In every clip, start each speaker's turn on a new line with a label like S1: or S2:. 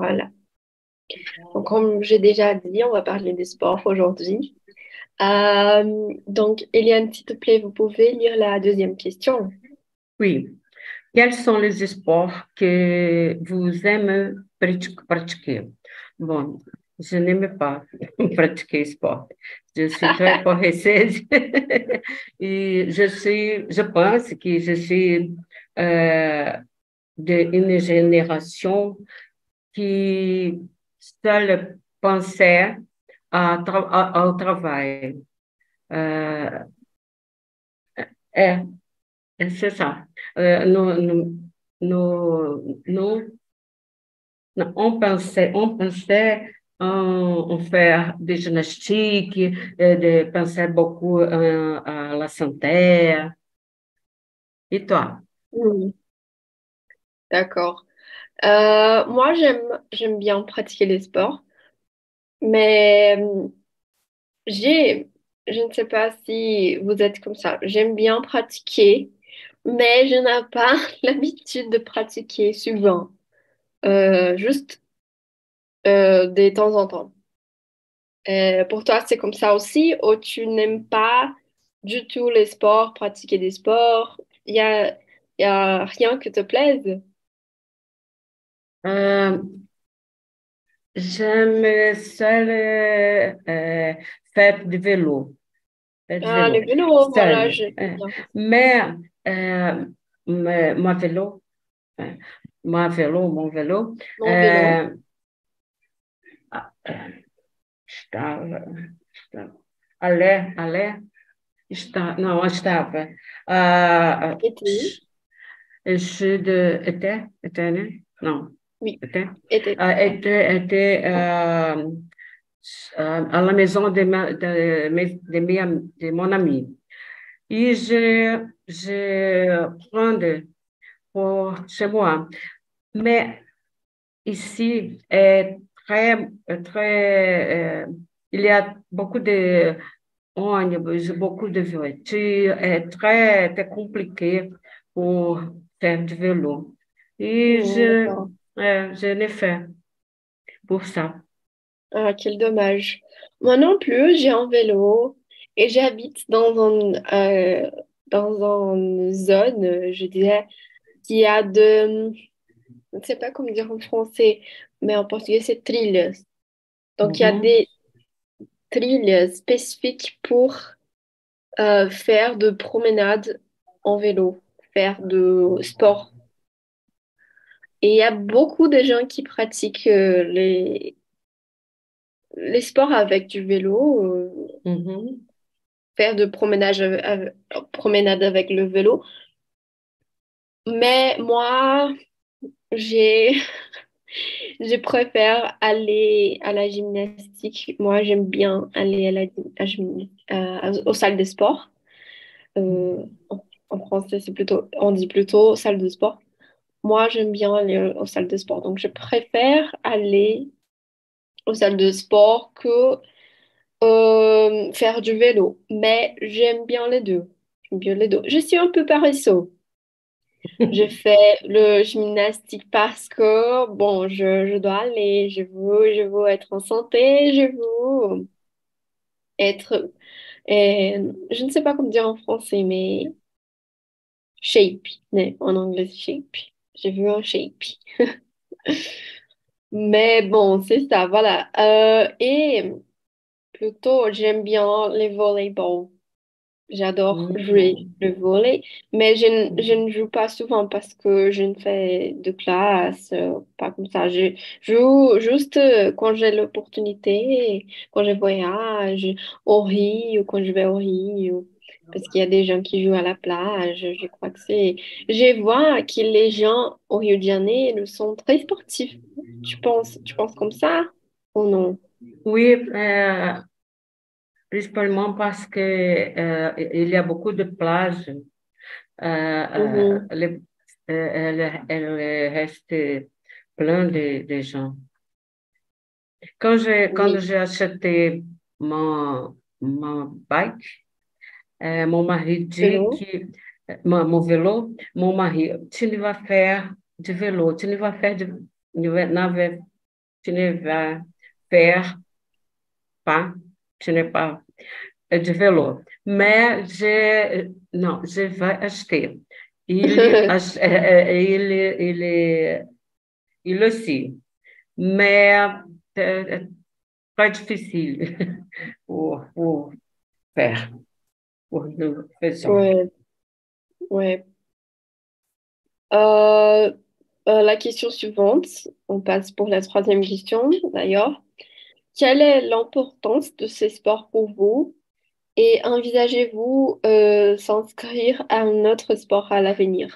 S1: Voilà. Donc, comme j'ai déjà dit, on va parler des sports aujourd'hui. Donc, Eliane, s'il te plaît, vous pouvez lire la deuxième question.
S2: Oui. Quels sont les sports que vous aimez pratiquer? Bon, je n'aime pas pratiquer sport. Je suis très paresseuse et je pense que je suis euh, d'une génération qui seule pensait ao travail. Euh, é, c'est ça. Nous, on pensait en faire des gymnastiques, penser beaucoup à la santé. Et toi?
S1: Hmm, d'accord. Moi, j'aime bien pratiquer les sports, mais j'ai, je ne sais pas si vous êtes comme ça. J'aime bien pratiquer, mais je n'ai pas l'habitude de pratiquer souvent. Juste de temps en temps. Pour toi, c'est comme ça aussi, ou tu n'aimes pas du tout les sports, pratiquer des sports? Il y a rien qui te plaise?
S2: Euh, J'aime seul faire du vélo. Faire du
S1: Ah, le
S2: vélo.
S1: vélo, voilà,
S2: Seul.
S1: j'aime bien.
S2: Mais, euh, mon vélo, euh, mon vélo,
S1: Mon vélo.
S2: euh, estava, estava, não, estava,
S1: Été.
S2: até, né? Não,
S1: Oui,
S2: até,
S1: été.
S2: à la maison de mon ami. Et je prends pour chez moi. Mais ici est très, il y a beaucoup de ônibus, beaucoup de voitures, é très compliqué pour faire du vélo. Et
S1: Hmm, d'accord.
S2: je l'ai fait pour ça.
S1: Ah, quel dommage. Moi non plus, j'ai un vélo et j'habite dans une zone, je dirais, qui a je ne sais pas comment dire en français, mais en portugais, c'est trilhas. Donc, il y a
S2: Mhm.
S1: des trilhas spécifiques pour faire de promenade en vélo, faire de sport. Et il y a beaucoup de gens qui pratiquent les sports avec du vélo,
S2: Mhm.
S1: faire de promenade avec le vélo. Mais moi, j'ai, je préfère aller à la gymnastique. Moi, j'aime bien aller aux salles de sport. Euh, en français, on dit plutôt salle de sport. Moi, j'aime bien aller aux salles de sport. Donc, je préfère aller aux salles de sport que faire du vélo. Mais j'aime bien les deux. J'aime bien les deux. Je suis un peu paresseux. Je fais le gymnastique parce que, bon, je dois aller. Je veux être en santé. Je veux être, je ne sais pas comment dire en français, mais shape. Mais en anglais, shape. Je veux un shape. Mais bon, c'est ça, voilà. Et plutôt, j'aime bien les volleyball. J'adore jouer
S2: Mhm.
S1: le volley, mais je ne joue pas souvent parce que je ne fais de classe, pas comme ça. Je joue juste quand j'ai l'opportunité, quand je voyage au Rio, quand je vais au Rio, parce qu'il y a des gens qui jouent à la plage. Je crois que c'est... Je vois que les gens au Rio de Janeiro sont très sportifs. Tu penses comme ça ou non?
S2: Oui, principalement parce que il y a beaucoup de plages.
S1: Mhm.
S2: Elle reste plein de gens. Quando
S1: Oui.
S2: j'ai acheté mon bike, mon mari dit
S1: Vélo.
S2: que mon vélo, mon mari, tu ne vas faire du vélo, tu ne vas faire de navette. tu ne vas faire pas, tu n'es pas de vélo. Mais non, je vais acheter. Il aussi. Mais é très difficile pour faire, pour nous faisons.
S1: Ouais, ouais. Euh, la question suivante, on passe pour la troisième question d'ailleurs. Quelle est l'importance de ces sports pour vous et envisagez-vous s'inscrire à un autre sport à l'avenir?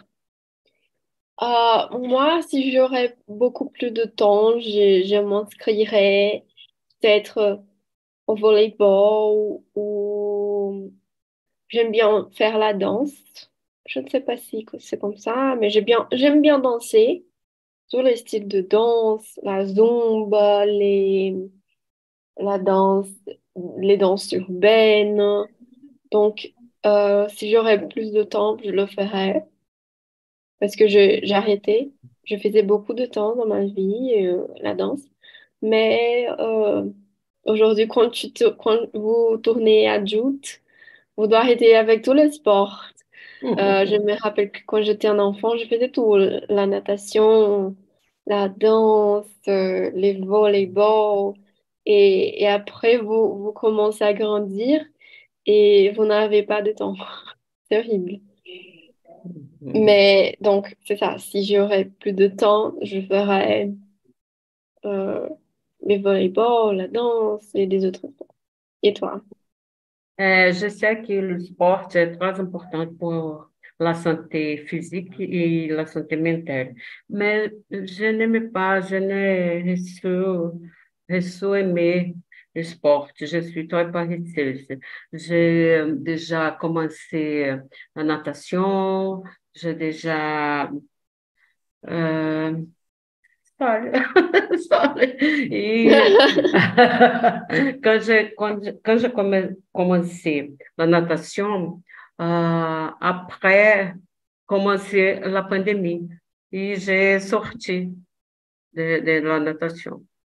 S1: Moi, si j'aurais beaucoup plus de temps, je m'inscrirais peut-être au volleyball ou j'aime bien faire la danse. Je ne sais pas si c'est comme ça, mais j'aime bien danser. Tous les styles de danse, la zumba, la danse, les danses urbaines. Donc, si j'aurais plus de temps, je le ferais parce que j'ai arrêté. Je faisais beaucoup de temps dans ma vie, la danse. Mais aujourd'hui, quand vous tournez adulte, vous devez arrêter avec tous les sports. Je me rappelle que quand j'étais un enfant, je faisais tout, la natation, la danse, les volleyball. Et après, vous commencez à grandir et vous n'avez pas de temps. C'est horrible. Mais donc, c'est ça. Si j'aurais plus de temps, je ferais euh, les volleyball, la danse et des autres sports. Et toi?
S2: Je sais que le sport est très important pour la santé physique et la santé mentale, mais je n'aime pas, je ne reçu aimer le sport. Je suis très paresseuse. J'ai déjà commencé la natation, j'ai déjà euh, Sorry. Sorry. E quand j'ai commencé la natation, après commencer la pandémie, et j'ai sorti de la natation.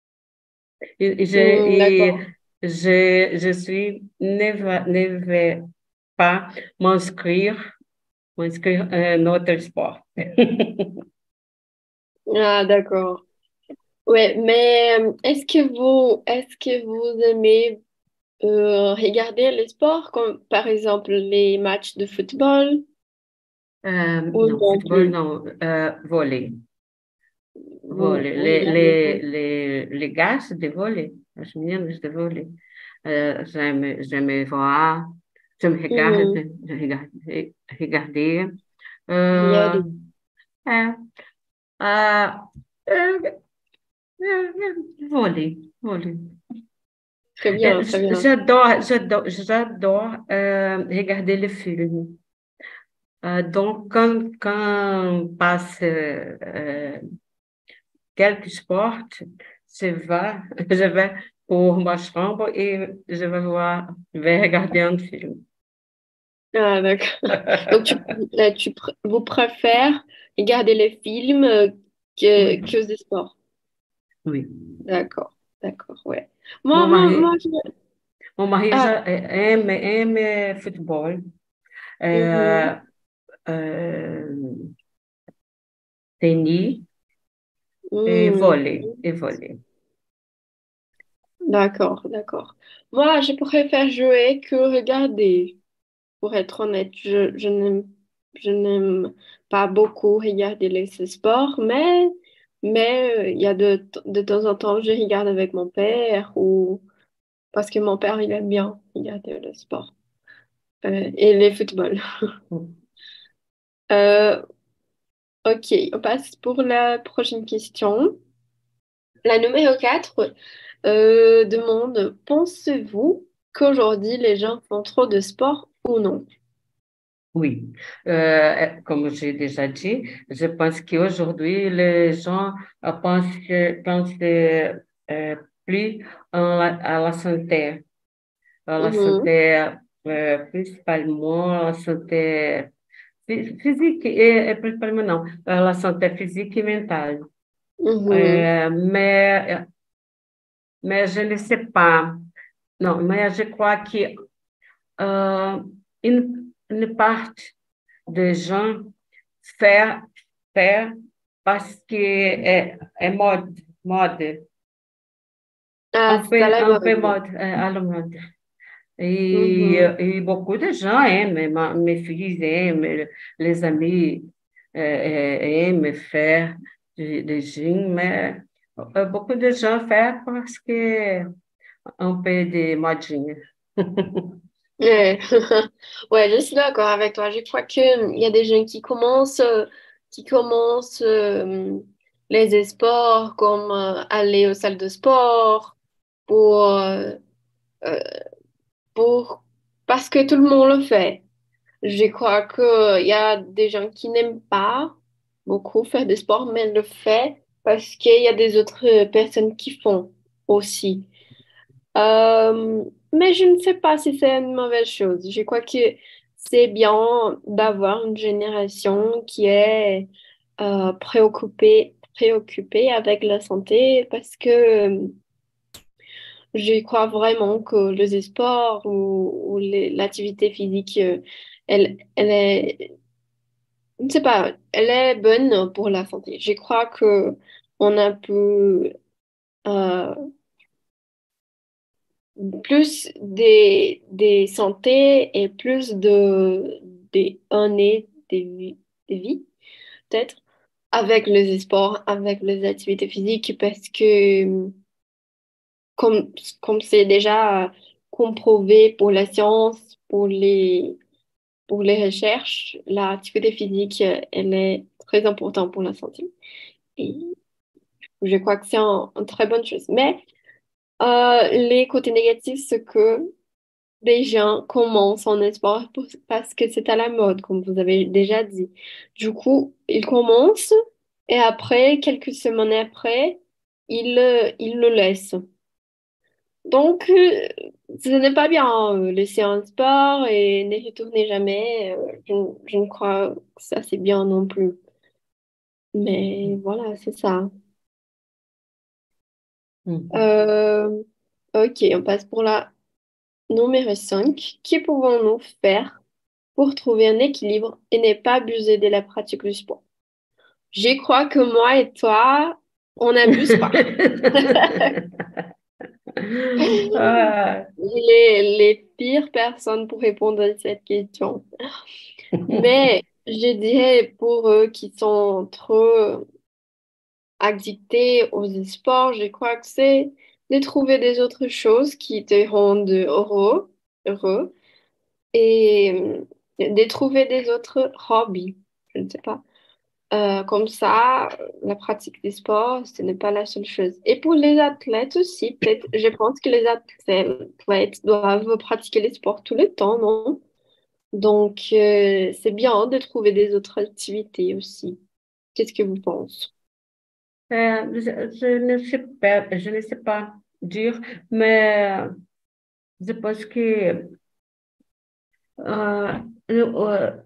S1: Hmm,
S2: Et
S1: d'accord.
S2: je suis ne vais pas m'inscrire à un autre sport.
S1: Ah, d'accord. Ouais, mais est-ce que vous aimez regarder les sports, comme par exemple les matchs de football ou
S2: Non,
S1: non
S2: football
S1: plus?
S2: non, vôlei.
S1: Vous
S2: Vôlei,
S1: regardez pas?
S2: les gars de vôlei, as meninas de vôlei, j'aime voir, je me
S1: Mhm.
S2: regarder,
S1: Regardez.
S2: euh, é, ah, é, vôlei.
S1: Très bien, très bien.
S2: J'adore regarder les films. Donc, quand passe quelque sport, je vais pour ma chambre et je vais regarder un film.
S1: Ah, d'accord. Donc, vous préférez regarder les films
S2: Oui,
S1: que des sports?
S2: oui.
S1: D'accord, d'accord, ouais.
S2: Mon
S1: Moi,
S2: mari, mon mari
S1: ah,
S2: aime football,
S1: mhm,
S2: euh, euh, tennis
S1: mhm.
S2: et volley.
S1: D'accord, d'accord. Moi, je préfère jouer que regarder. Pour être honnête, je n'aime pas beaucoup regarder les sports, mais il y a de temps en temps, je regarde avec mon père ou parce que mon père, il aime bien regarder le sport et les footballs. Euh, ok, on passe pour la prochaine question. La numéro 4 demande, pensez-vous qu'aujourd'hui les gens font trop de sport ou non?
S2: Oui, comme j'ai déjà dit, je pense qu'aujourd'hui, les gens pensent plus à la
S1: Mhm,
S2: santé principalement à la santé physique, et principalement non, à la santé physique e mental.
S1: mhm,
S2: Mais mais je ne sais pas. Non, mais je crois que euh, une partie des gens fait, fait parce que est mode,
S1: Ah, c'est à la
S2: un peu
S1: mode.
S2: mode, à la mode.
S1: Mhm.
S2: Et beaucoup de gens aiment, mes filles aiment, les amis aiment faire des jeans, mais beaucoup de gens font parce que un peu de modinha.
S1: Ouais. Ouais, je suis d'accord avec toi. Je crois qu'il y a des gens qui commencent les sports comme aller aux salles de sport pour, euh, euh, pour, parce que tout le monde le fait. Je crois qu'il y a des gens qui n'aiment pas beaucoup faire des sports, mais le fait parce qu'il y a des autres personnes qui font aussi. Mais je ne sais pas si c'est une mauvaise chose. Je crois que c'est bien d'avoir une génération qui est préoccupée avec la santé parce que je crois vraiment que les sports ou l'activité physique, elle est, je ne sais pas, elle est bonne pour la santé. Je crois que on a pu euh, plus des santé et plus des années de vie, peut-être, avec les sports, avec les activités physiques, parce que comme, comme c'est déjà comprouvé pour la science, pour les recherches, l'activité physique, elle est très importante pour la santé. Et je crois que c'est une très bonne chose. Mais les côtés négatifs, c'est que des gens commencent en sport parce que c'est à la mode, comme vous avez déjà dit. Du coup, ils commencent et après, quelques semaines après, ils le laissent. Donc, ce n'est pas bien, laisser un sport et ne retourner jamais. Je ne crois que ça, c'est bien non plus. Mais voilà, c'est ça.
S2: Mhm.
S1: Euh, ok, on passe pour la numéro 5. Que pouvons-nous faire pour trouver un équilibre et ne pas abuser de la pratique du sport? Je crois que moi et toi, on n'abuse pas.
S2: Ah.
S1: Les pires personnes pour répondre à cette question. Mais je dirais pour eux qui sont trop addictés aux sports, je crois que c'est de trouver des autres choses qui te rendent heureux et de trouver des autres hobbies. Je ne sais pas. Comme ça, la pratique des sports, ce n'est pas la seule chose. Et pour les athlètes aussi, peut-être, je pense que les athlètes doivent pratiquer les sports tout le temps, non? Donc, c'est bien de trouver des autres activités aussi. Qu'est-ce que vous pensez?
S2: Je ne sais pas dire, mais je pense que euh, euh,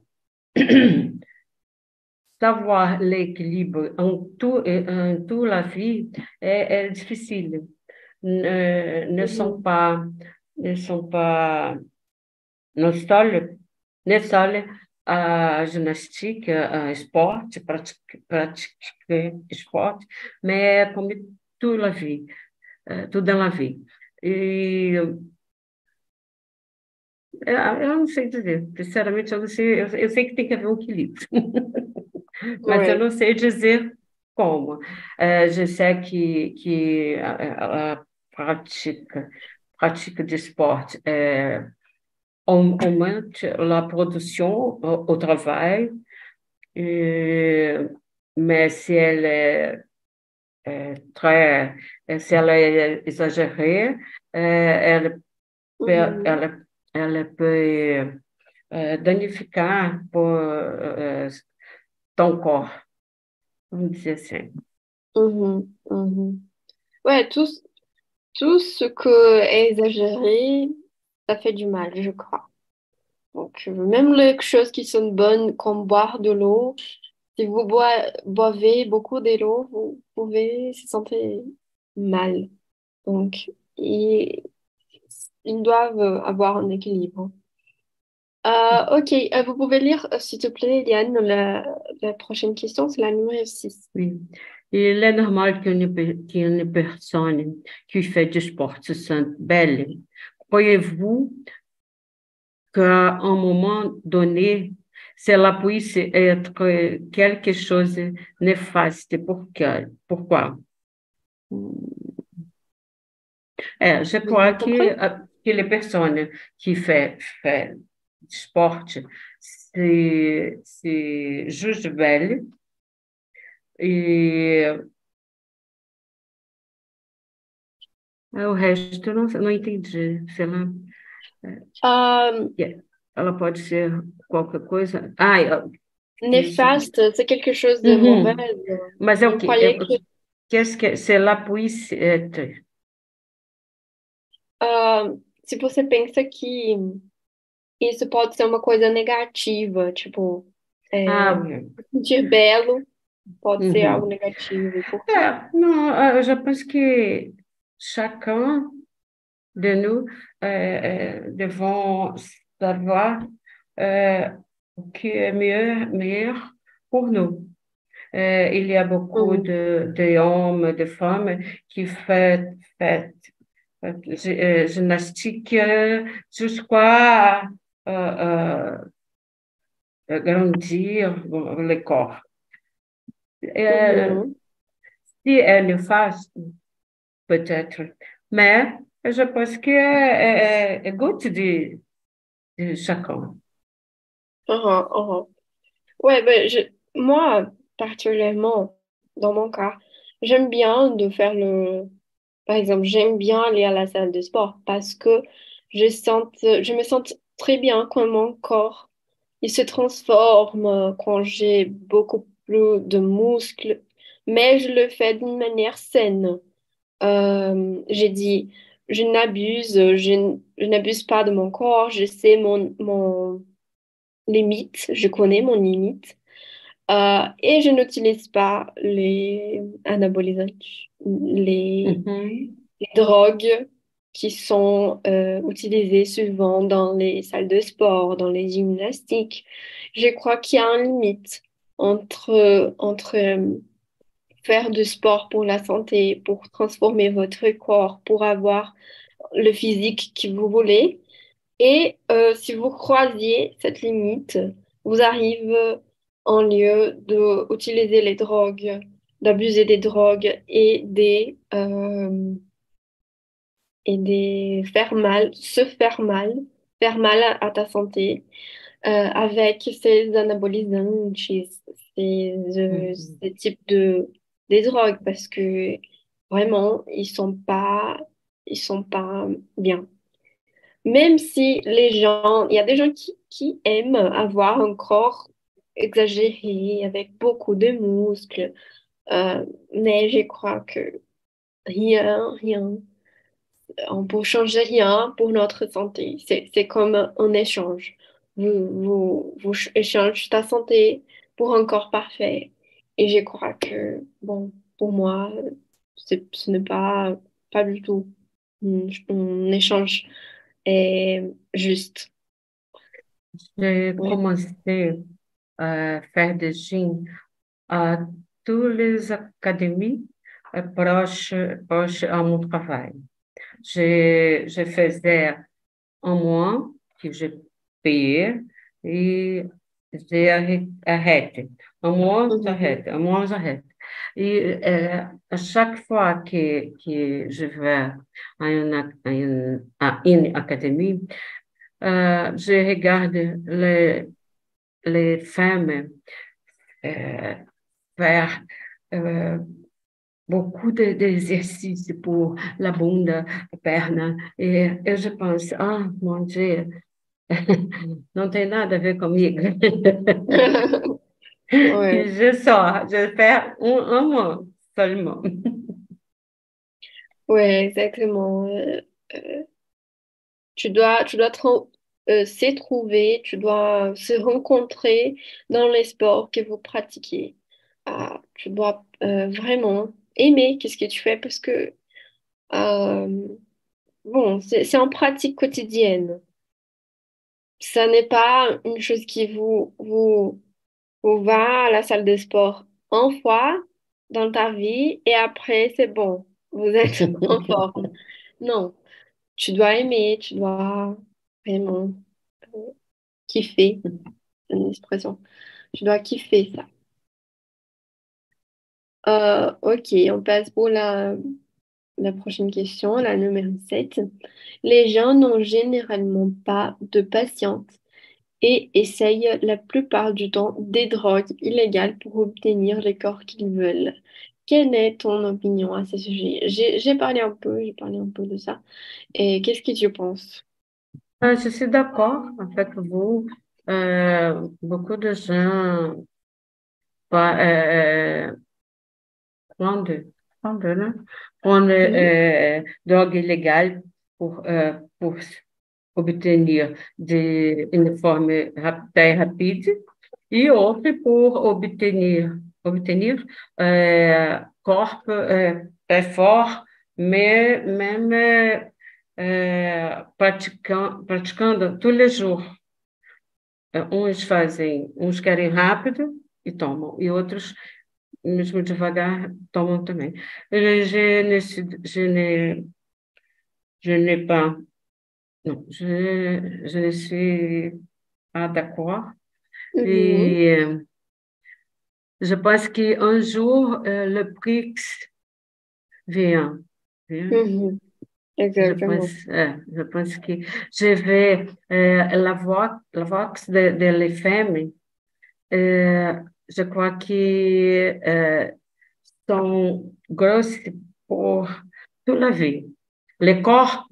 S2: savoir l'équilibre en tout la vie est difficile. Ne sont
S1: Mhm,
S2: pas, ne sont pas, não seuls, ne seul a ginástica, a esporte, pratiquer esporte, mais como tudo a vie, tudo dans la vie. E eu não sei dizer, sinceramente, eu não sei, eu sei que tem que haver um equilíbrio, mas eu
S1: ouais.
S2: não sei dizer como. Je sais que a prática de esporte aumenta a produção, o trabalho, mais si elle très, si elle est exagérée, elle peut,
S1: Mhm,
S2: elle peut danificar ton corps, vamos dizer assim.
S1: mhm, mhm. Ouais, tout ce que est exagéré, ça fait du mal, je crois. Donc, même les choses qui sont bonnes, comme boire de l'eau, si vous boivez beaucoup de l'eau, vous pouvez se sentir mal. Donc, ils, ils doivent avoir un équilibre. Ok, vous pouvez lire, s'il te plaît, Eliane, la prochaine question, c'est la numéro 6.
S2: Oui. Il est normal qu'une personne qui fait du sport se sente belle. Croyez-vous qu'à un moment donné, cela puisse être quelque chose de néfaste? Pourquoi? Je
S1: Vous avez
S2: crois
S1: compris?
S2: que les personnes qui font du sport se jugent belles e o resto eu não entendi. Se ela,
S1: Euh,
S2: ela pode ser qualquer coisa. Ah,
S1: Néfaste, c'est quelque chose de mauvais.
S2: uhum. Mas é o
S1: Vous
S2: quê?
S1: croyez que
S2: Qu'est-ce que cela puisse être?
S1: se você pensa que isso pode ser uma coisa negativa, tipo,
S2: Ah,
S1: é,
S2: oui.
S1: sentir belo pode ser algo
S2: Uhum.
S1: negativo. E por quê?
S2: Não, je pense que chacun de nous devons savoir euh, o que est meilleur pour nous. Il y a beaucoup
S1: Hum,
S2: d'hommes, de femmes qui font gymnastique jusqu'à grandir le corps. Euh,
S1: uhum,
S2: Si elle le fasse, peut-être. Mais je pense que é goût de chacun.
S1: uhum, uhum. Ouais, ben, moi, particulièrement, dans mon cas, j'aime bien de faire par exemple, j'aime bien aller à la salle de sport parce que je me sens très bien quand mon corps, il se transforme, quand j'ai beaucoup plus de muscles, mais je le fais d'une manière saine. J'ai dit, je n'abuse pas de mon corps, je sais mon limite, je connais mon limite. Et je n'utilise pas les anabolisants, les,
S2: Mhm,
S1: les drogues qui sont utilisées souvent dans les salles de sport, dans les gymnastiques. Je crois qu'il y a une limite entre faire du sport pour la santé, pour transformer votre corps, pour avoir le physique que vous voulez. Et si vous croisiez cette limite, vous arrivez en lieu d'utiliser les drogues, d'abuser des drogues et des faire mal à ta santé avec ces anabolisants,
S2: mhm.
S1: ces types des drogues parce que vraiment, ils sont pas bien. Même si il y a des gens qui aiment avoir un corps exagéré avec beaucoup de muscles, mais je crois que rien, on peut changer rien pour notre santé. C'est comme un échange. Vous échangez ta santé pour un corps parfait. Et je crois que, bon, pour moi, ce n'est pas du tout un échange juste.
S2: J'ai
S1: Oui.
S2: commencé à faire des gym à toutes les académies proches à mon travail. Je faisais un mois que j'ai payé et j'ai arrêté. Un mois,
S1: Mhm.
S2: j'arrête. Un mois, j'arrête. Et à chaque fois que je vais à une académie, je regarde les femmes euh, faire euh, beaucoup d'exercices pour la bunda, la perna, et je pense, ah, mon Dieu, não tem nada a ver comigo.
S1: Ouais,
S2: Je fais un mois seulement.
S1: ouais, exactement. Euh, tu dois se trouver, tu dois se rencontrer dans les sports que vous pratiquez. Tu dois vraiment aimer qu'est-ce que tu fais parce que Euh, bon, c'est en pratique quotidienne. Ça n'est pas une chose qui vous va à la salle de sport une fois dans ta vie et après, c'est bon, vous êtes en forme. Non, tu dois aimer, tu dois vraiment kiffer, c'est une expression. Tu dois kiffer ça. Ok, on passe pour la prochaine question, la numéro 7. Les gens n'ont généralement pas de patience et essayent la plupart du temps des drogues illégales pour obtenir les corps qu'ils veulent. Quelle est ton opinion à ce sujet? J'ai parlé un peu de ça. Et qu'est-ce que tu penses?
S2: Je suis d'accord avec vous. Beaucoup de gens pa- prendre, prendre, né? Prendre
S1: Mhm,
S2: droga ilegal por obter de uma forma très rapide e outra por obter corpo très fort, mais même praticando tous les jours. Uns querem rápido e tomam, e outros mesmo devagar, tomam também. Je n'ai pas, non, je ne suis pas d'accord.
S1: mhm,
S2: Et je pense qu'un jour, le BRICS vient. Vient.
S1: mhm, exactement.
S2: Je pense que je vais la Vox de les femmes, je crois que sont grosses pour toute la vie. Les corps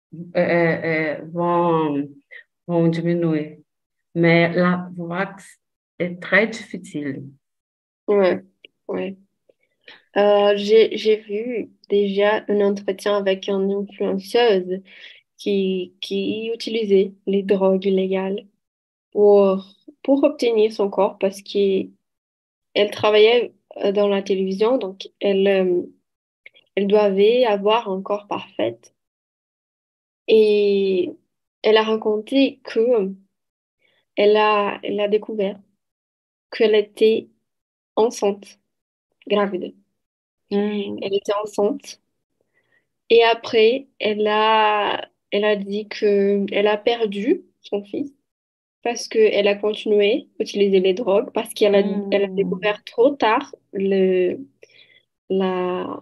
S2: vont diminuer, mais la wax est très difficile.
S1: Ouais, ouais. J'ai vu déjà un entretien avec une influenceuse qui utilisait les drogues illégales pour, pour obtenir son corps parce qu'elle travaillait dans la télévision, donc elle devait avoir un corps parfait. Et elle a raconté que elle a découvert qu'elle était enceinte, gravide.
S2: Hum,
S1: Elle était enceinte. Et après, elle a dit que elle a perdu son fils parce qu'elle a continué à utiliser les drogues, parce elle a
S2: hum,
S1: découvert trop tard la,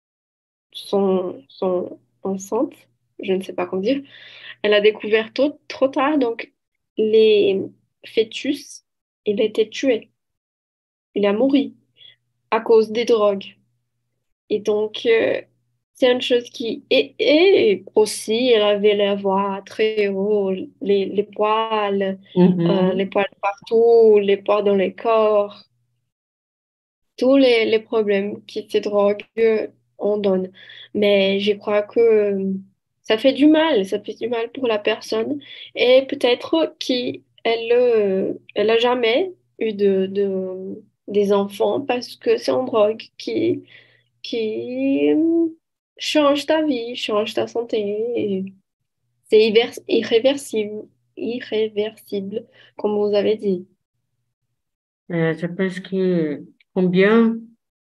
S1: son enceinte, je ne sais pas comment dire. Elle a découvert trop tard, donc les fœtus, il a été tué, il a mouru à cause des drogues. Et donc, c'est une chose qui... Et aussi, elle avait la voix très haut, les
S2: uhum.
S1: poils partout, les poils dans le corps, tous les problèmes que ces drogues en donnent. Mais je crois que ça fait du mal pour la personne. Et peut-être elle a jamais eu des enfants parce que c'est une drogue qui change ta vie, change ta santé. Et c'est irréversible, comme vous avez dit.
S2: Je pense que combien,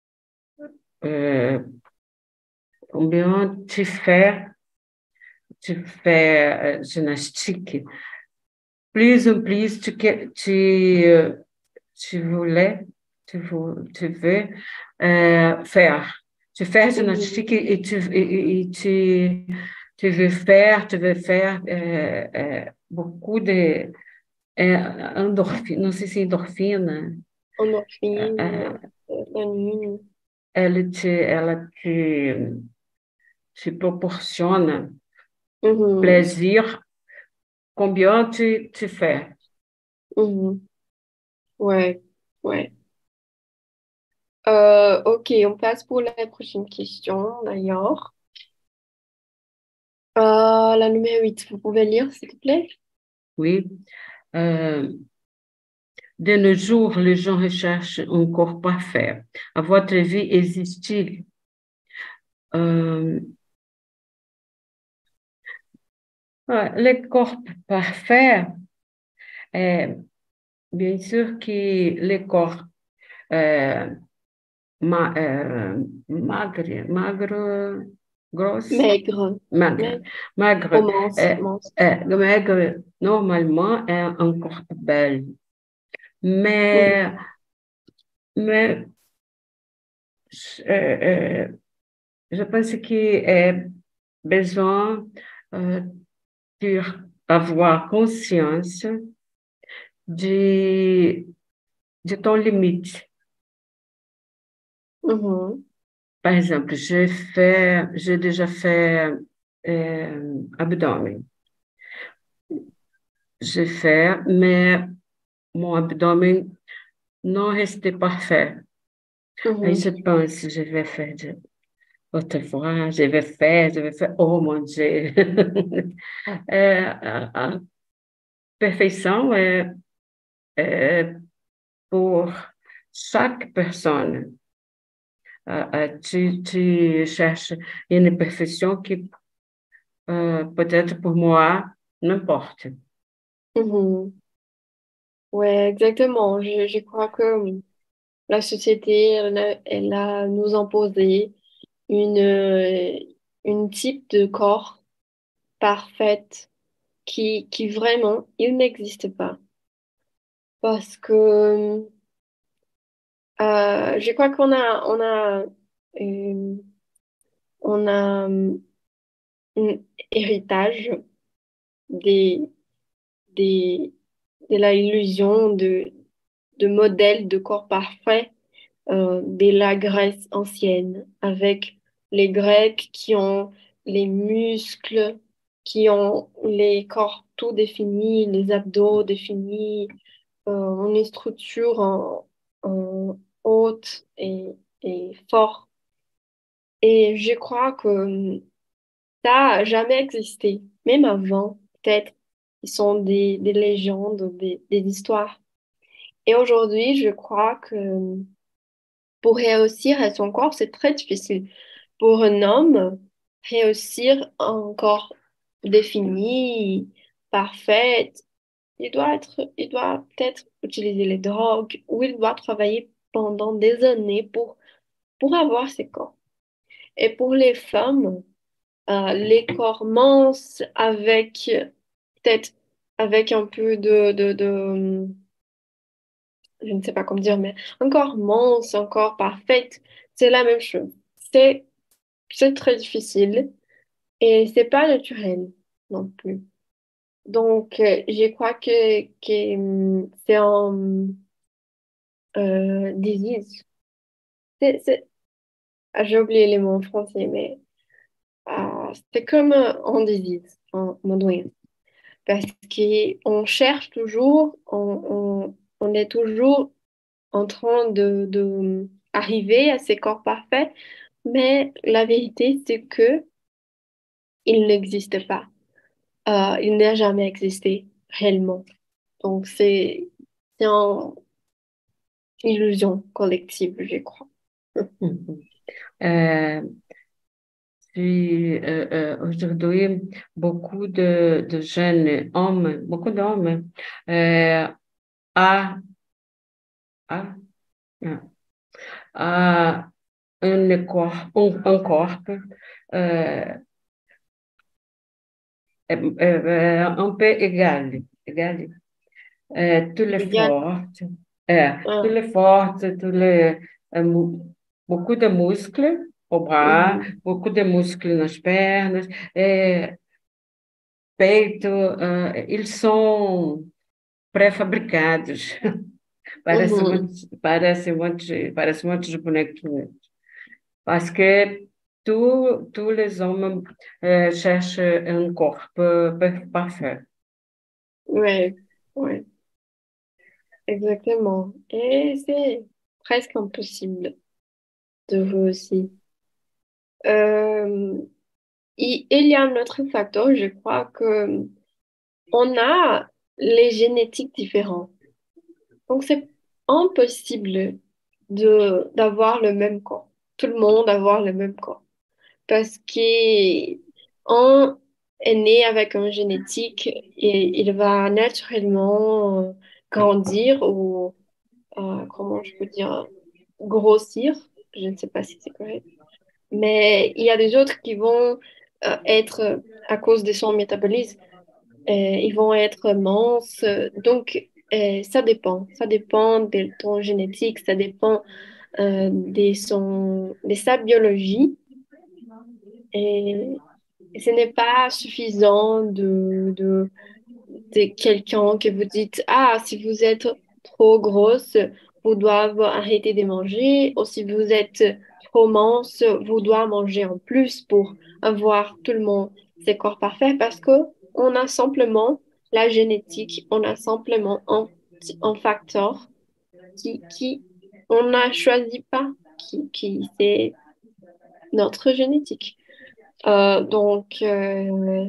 S2: euh, combien tu fais gymnastique, plus en plus tu voulais, tu veux faire. Tu fais gymnastique
S1: Mhm.
S2: tu veux faire beaucoup de endorphine, não sei se é endorfina,
S1: Endorphine,
S2: euh,
S1: l'anine.
S2: te proporciona
S1: Mhm.
S2: plaisir, combien tu fais.
S1: Mhm. Ouais, ouais. Ok, on passe pour la prochaine question, d'ailleurs. La numéro 8, vous pouvez lire, s'il vous plaît?
S2: Oui. Euh, de nos jours, les gens recherchent un corps parfait. À votre avis, existe-t-il Ouais, le corps parfait, euh, bien sûr que le corps euh, magre, grosse,
S1: Maigre,
S2: magre,
S1: maigre,
S2: magre,
S1: ou mince, mince.
S2: maigre, normalement, est un corps bel. Mais,
S1: Mhm.
S2: mais euh, euh, je pense qu'il est besoin euh, pour avoir conscience de, de ton limite.
S1: Mhm.
S2: Par exemple, j'ai déjà fait abdomen. J'ai fait, mais mon abdomen non restait parfait. Aí
S1: Mhm.
S2: je pense, je vais faire outra fois, je vais faire, oh mon Dieu. A perfeição é pour chaque personne. Tu cherches une perfection qui, peut-être pour moi, n'importe.
S1: Mhm. Ouais, exactement. Je crois que la société, elle a nous imposé une type de corps parfaite qui vraiment, il n'existe pas. Parce que je crois euh, on a un héritage des, des, de la illusion de modèles de corps parfait de la Grèce ancienne, avec les Grecs qui ont les muscles, qui ont les corps tout définis, les abdos définis, une structure en haute et fort. Et je crois que ça n'a jamais existé, même avant, peut-être. Ils sont des légendes, des histoires. Et aujourd'hui, je crois que pour réussir à son corps, c'est très difficile. Pour un homme, réussir un corps défini, parfait, il doit peut-être utiliser les drogues ou il doit travailler pendant des années pour avoir ces corps. Et pour les femmes, les corps minces avec peut-être avec un peu je ne sais pas comment dire, mais un corps mince, un corps parfait, c'est la même chose. C'est c'est très difficile et c'est pas naturel non plus. Donc, je crois que c'est un disease. J'ai oublié les mots en français, mais c'est comme un disease en mandarin. Parce qu'on cherche toujours, on est toujours en train de arriver à ces corps parfaits, mais la vérité, c'est que il n'existe pas. Il n'a jamais existé réellement. Donc, c'est une illusion collective, je crois.
S2: Mhm. Euh, Aujourd'hui, de jeunes hommes, beaucoup d'hommes, euh, a, a, a un corps euh, un peu égal. Tous les
S1: Égal.
S2: fortes, tous
S1: Ah,
S2: les fortes, beaucoup de muscles au bras,
S1: mhm,
S2: beaucoup de muscles nas pernas, peito, eles são pré-fabricados.
S1: mhm.
S2: Parece um monte de bonequinho. Parce que tous les hommes cherchent un corps parfait.
S1: Ouais, ouais, exactement. Et c'est presque impossible de réussir. Euh, il y a un autre facteur, je crois que on a les génétiques différents. Donc, c'est impossible d'avoir le même corps. Tout le monde avoir le même corps. Parce que est né avec une génétique et il va naturellement grandir ou, comment je peux dire, grossir. Je ne sais pas si c'est correct. Mais il y a des autres qui vont être, à cause de son métabolisme, ils vont être minces. Donc, ça dépend. Ça dépend de ton génétique, ça dépend de sa biologie. Et ce n'est pas suffisant de quelqu'un que vous dites, ah, si vous êtes trop grosse, vous devez arrêter de manger, ou si vous êtes trop mince, vous devez manger en plus pour avoir tout le monde ses corps parfaits, parce que on a simplement la génétique, on a simplement un facteur qui on n'a choisi pas, qui c'est notre génétique. Donc,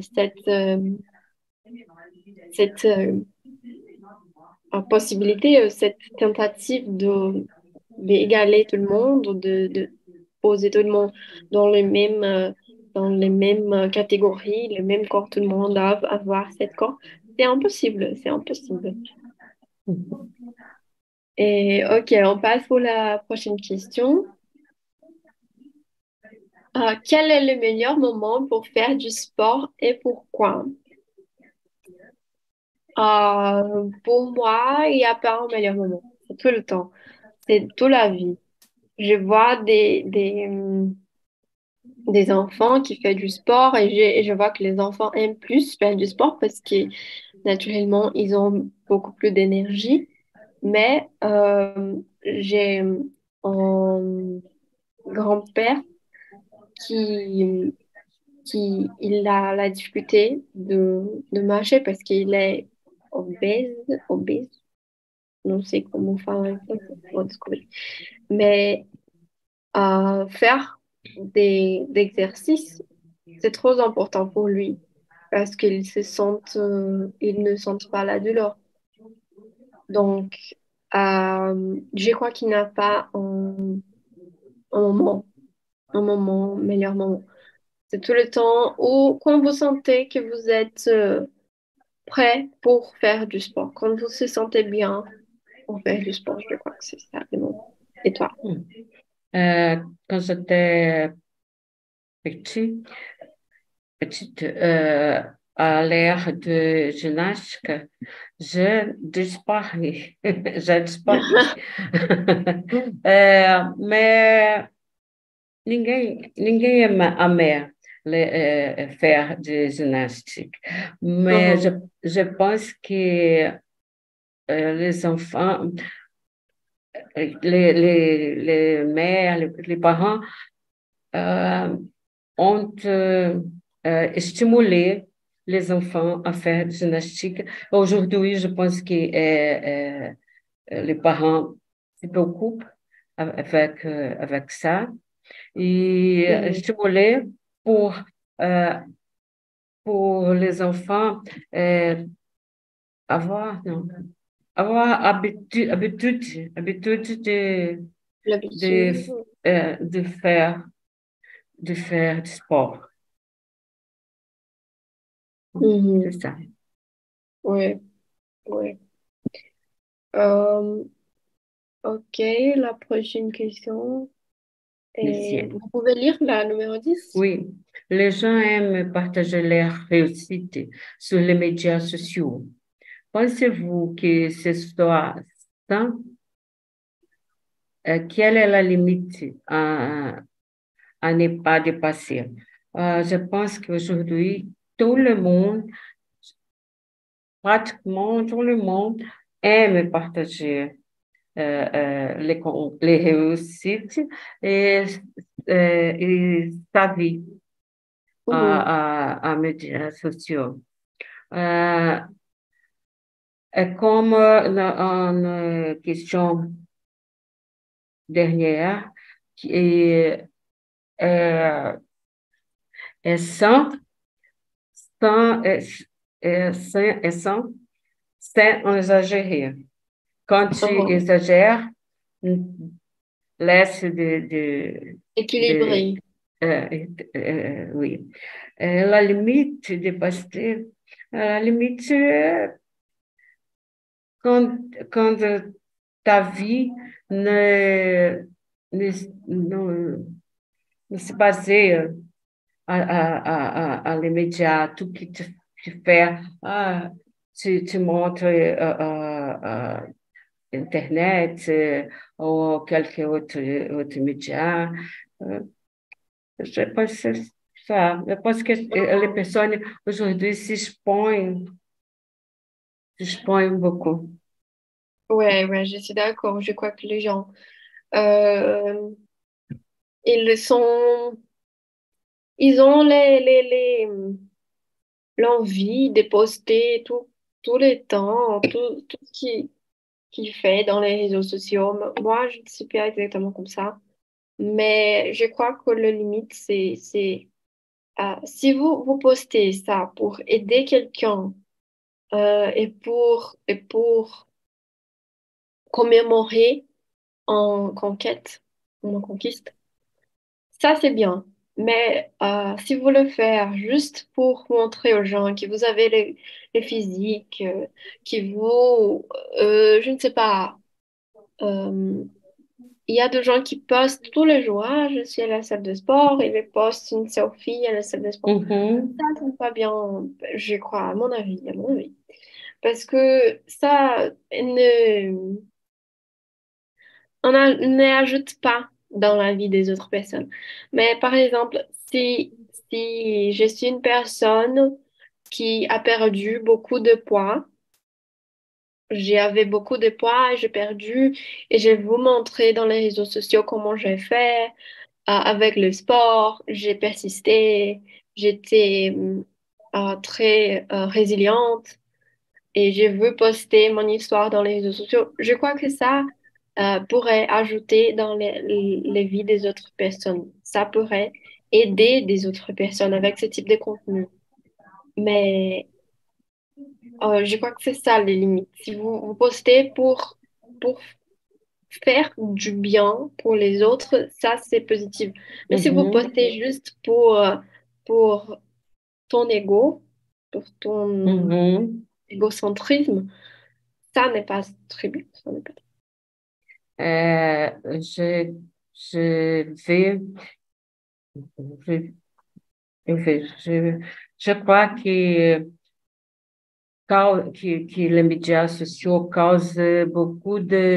S1: cette possibilité, cette tentative d'égaler tout le monde, de poser tout le monde dans dans les mêmes catégories, les mêmes corps, tout le monde doit avoir cette corps, c'est impossible, c'est impossible. Et ok, on passe pour la prochaine question. Quel est le meilleur moment pour faire du sport et pourquoi? Pour moi, il n'y a pas un meilleur moment. C'est tout le temps. C'est toute la vie. Je vois des enfants qui font du sport et je vois que les enfants aiment plus faire du sport parce que naturellement, ils ont beaucoup plus d'énergie. Mais j'ai un grand-père qui, qui il a la difficulté de marcher parce qu'il est obèse, non sais comment faire ça, faut découvrir. Mais faire des exercices, c'est trop important pour lui parce il ne sent pas la douleur. Donc, je crois qu'il n'a pas un moment, un moment, meilleur moment. C'est tout le temps où, quand vous sentez que vous êtes prêt pour faire du sport, quand vous se sentez bien pour faire du sport, je crois que c'est ça le moment. Et toi?
S2: Euh, Quand j'étais petit, petite, à l'ère de gymnastique, j'ai disparu. J'ai disparu. Mais ninguém aimait faire de gymnastique. Mais
S1: Mhm.
S2: je pense que les enfants, les mères, les parents euh, ont stimulé les enfants à faire gymnastique. Aujourd'hui, je pense que les parents se préoccupent avec ça et
S1: Mhm.
S2: stimuler pour, euh, pour les enfants euh, avoir, non, avoir habitude de,
S1: L'habitude.
S2: euh, de faire, de faire du sport. C'est
S1: Mhm.
S2: ça.
S1: Ouais, ouais. Euh, ok, la prochaine question. Et
S2: Deuxième.
S1: vous pouvez lire la numéro 10.
S2: Oui, les gens aiment partager leur réussite sur les médias sociaux. Pensez-vous que ce soit ça? Quelle est la limite à ne pas dépasser? Je pense qu'aujourd'hui, tout le monde, pratiquement tout le monde, aime partager les réussites et, et sa vie
S1: Mhm.
S2: à médias sociaux. Euh, et comme une question dernière, qui est, est sans, sans, sans exagérer. Quand tu
S1: Mhm.
S2: exagères, laisse
S1: Équilibré.
S2: oui. La limite de passer, la limite, quand, quand ta vie ne, ne, não, ne se baseia à l'immédiat, tout que tu fais, tu montres Internet ou quelque autre média. Euh, je pense que c'est ça. Je pense que les personnes aujourd'hui s'expoignent beaucoup.
S1: Ouais, ouais, je suis d'accord. Je crois que les gens, euh, ils sont, ils ont l'envie de poster tout le temps, tout ce qui fait dans les réseaux sociaux. Moi, je ne suis pas exactement comme ça. Mais je crois que le limite, si vous postez ça pour aider quelqu'un et pour commémorer en conquête, en conquiste, ça c'est bien. Mais si vous le faites juste pour montrer aux gens que vous avez les physiques, qui vous, je ne sais pas, euh, il y a des gens qui postent tous les jours, ah, je suis à la salle de sport, et ils postent une selfie à la salle de sport. Ça,
S2: Uhum,
S1: c'est pas bien, je crois, à mon avis. Parce que ça n'ajoute pas dans la vie des autres personnes. Mais par exemple, si je suis une personne qui a perdu beaucoup de poids, j'avais beaucoup de poids et j'ai perdu, et je vais vous montrer dans les réseaux sociaux comment j'ai fait, avec le sport, j'ai persisté, j'étais très résiliente et je veux poster mon histoire dans les réseaux sociaux. Je crois que ça pourrait ajouter dans les vies des autres personnes. Ça pourrait aider des autres personnes avec ce type de contenu. Mais je crois que c'est ça les limites. Si vous postez pour faire du bien pour les autres, ça c'est positif. Mais si vous
S2: uhum,
S1: postez juste pour ton ego, pour ton
S2: uhum.
S1: égocentrisme, ça n'est pas très bien. Ça n'est pas...
S2: É, je vais, je, eu vejo, je crois que les médias sociaux causent beaucoup de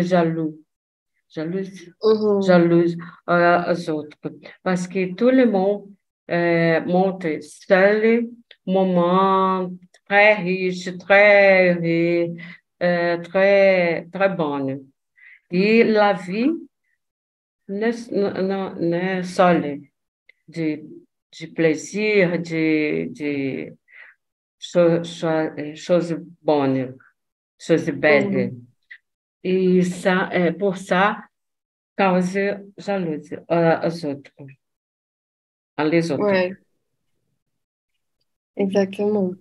S1: Mhm.
S2: jalouse aux autres. Parce que tout le monde montre seul moment très riche, très bonne. Et la vie n'est seule de, de plaisir, de choses bonnes, choses belles.
S1: Mhm.
S2: E ça, pour ça, cause jalousie aux autres, les autres.
S1: Ouais, exactement.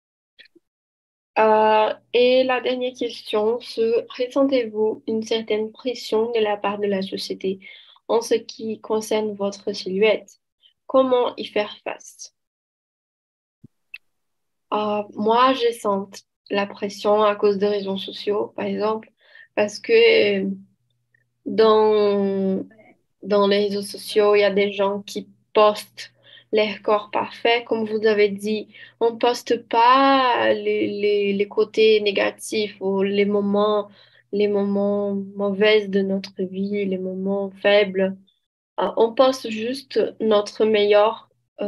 S1: Et la dernière question, ressentez-vous une certaine pression de la part de la société en ce qui concerne votre silhouette? Comment y faire face? Moi, je sens la pression à cause des réseaux sociaux, par exemple, parce que dans, dans les réseaux sociaux, il y a des gens qui postent leur corps parfait. Comme vous avez dit, on ne poste pas les côtés négatifs ou les moments mauvais de notre vie, les moments faibles. On poste juste notre meilleur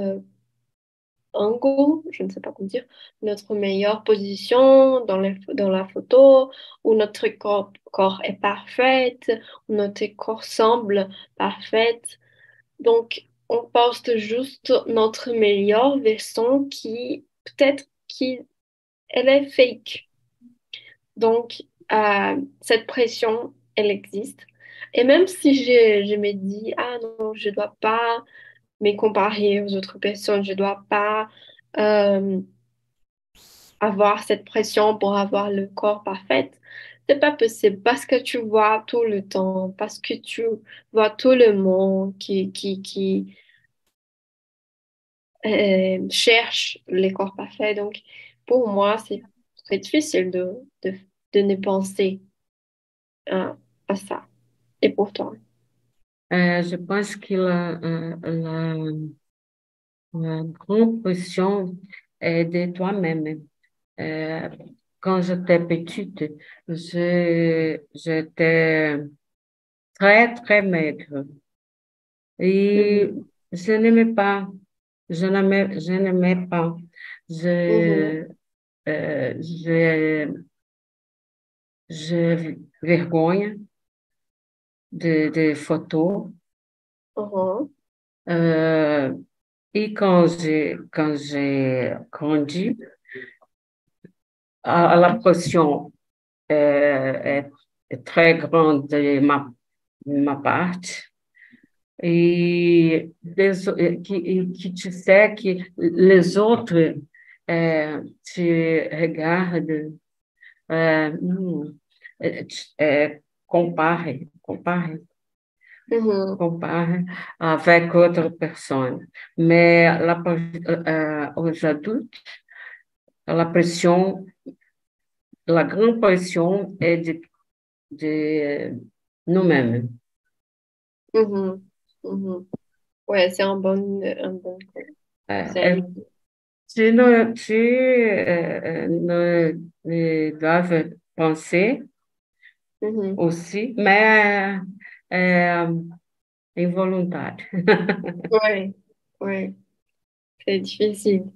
S1: angle, je ne sais pas comment dire, notre meilleure position dans la photo, où notre corps est parfait, où notre corps semble parfait. Donc, on poste juste notre meilleure version qui, peut-être, qui, elle est fake. Donc, cette pression, elle existe. Et même si je me dis, ah non, je dois pas me comparer aux autres personnes, je dois pas euh, avoir cette pression pour avoir le corps parfait. C'est pas possible parce que tu vois tout le temps, parce que tu vois tout le monde cherche les corps parfaits. Donc, pour moi, c'est très difficile de ne penser à ça. Et pourtant.
S2: Je pense que la grande pression est de toi-même. Euh, Quand j'étais petite, j'étais très, très maigre et
S1: Mhm,
S2: je n'aimais pas, je n'aimais pas.
S1: mhm,
S2: Je, j'ai vergonha de photos.
S1: mhm,
S2: Euh, et quand j'ai grandi, la pression est, est très grande de ma parte. Que tu sais que les autres te regardent, hum, comparem,
S1: mhm,
S2: compare avec outra pessoa. Mais aux adultes, la pression, la grande pression est de nous-mêmes.
S1: mhm, mhm. Ouais, c'est un bon
S2: Euh,
S1: conseil.
S2: ne doivent penser
S1: Mhm.
S2: aussi, mais involontaire.
S1: Ouais, ouais, c'est difficile.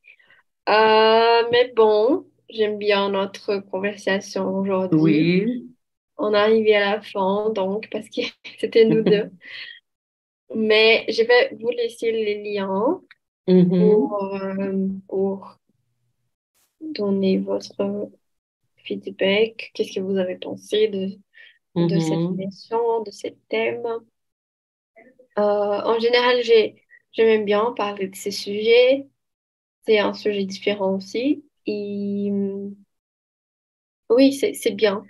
S1: Mais bon, j'aime bien notre conversation aujourd'hui.
S2: Oui.
S1: On est arrivé à la fin, donc, parce que c'était nous deux. Mais je vais vous laisser les liens
S2: Uhum,
S1: pour donner votre feedback. Qu'est-ce que vous avez pensé de cette
S2: uhum,
S1: émission, de ce thème? En général, j'aime bien parler de ces sujets. C'est un sujet différent aussi. Et oui, c'est bien.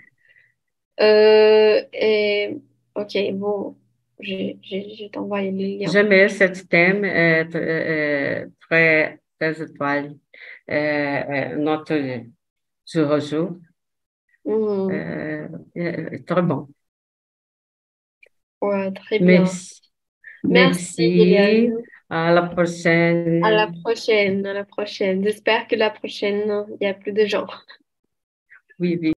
S1: Et ok, bon, je t'envoie les liens.
S2: Jamais cet thème est très, très atual. Notre jour au jour.
S1: Mhm.
S2: Très bon.
S1: Ouais, très bien.
S2: Merci.
S1: Merci,
S2: Merci.
S1: Gillian.
S2: À la
S1: À la
S2: prochaine.
S1: prochaine, à la prochaine. J'espère que la prochaine, il y a plus de gens.
S2: Oui, oui.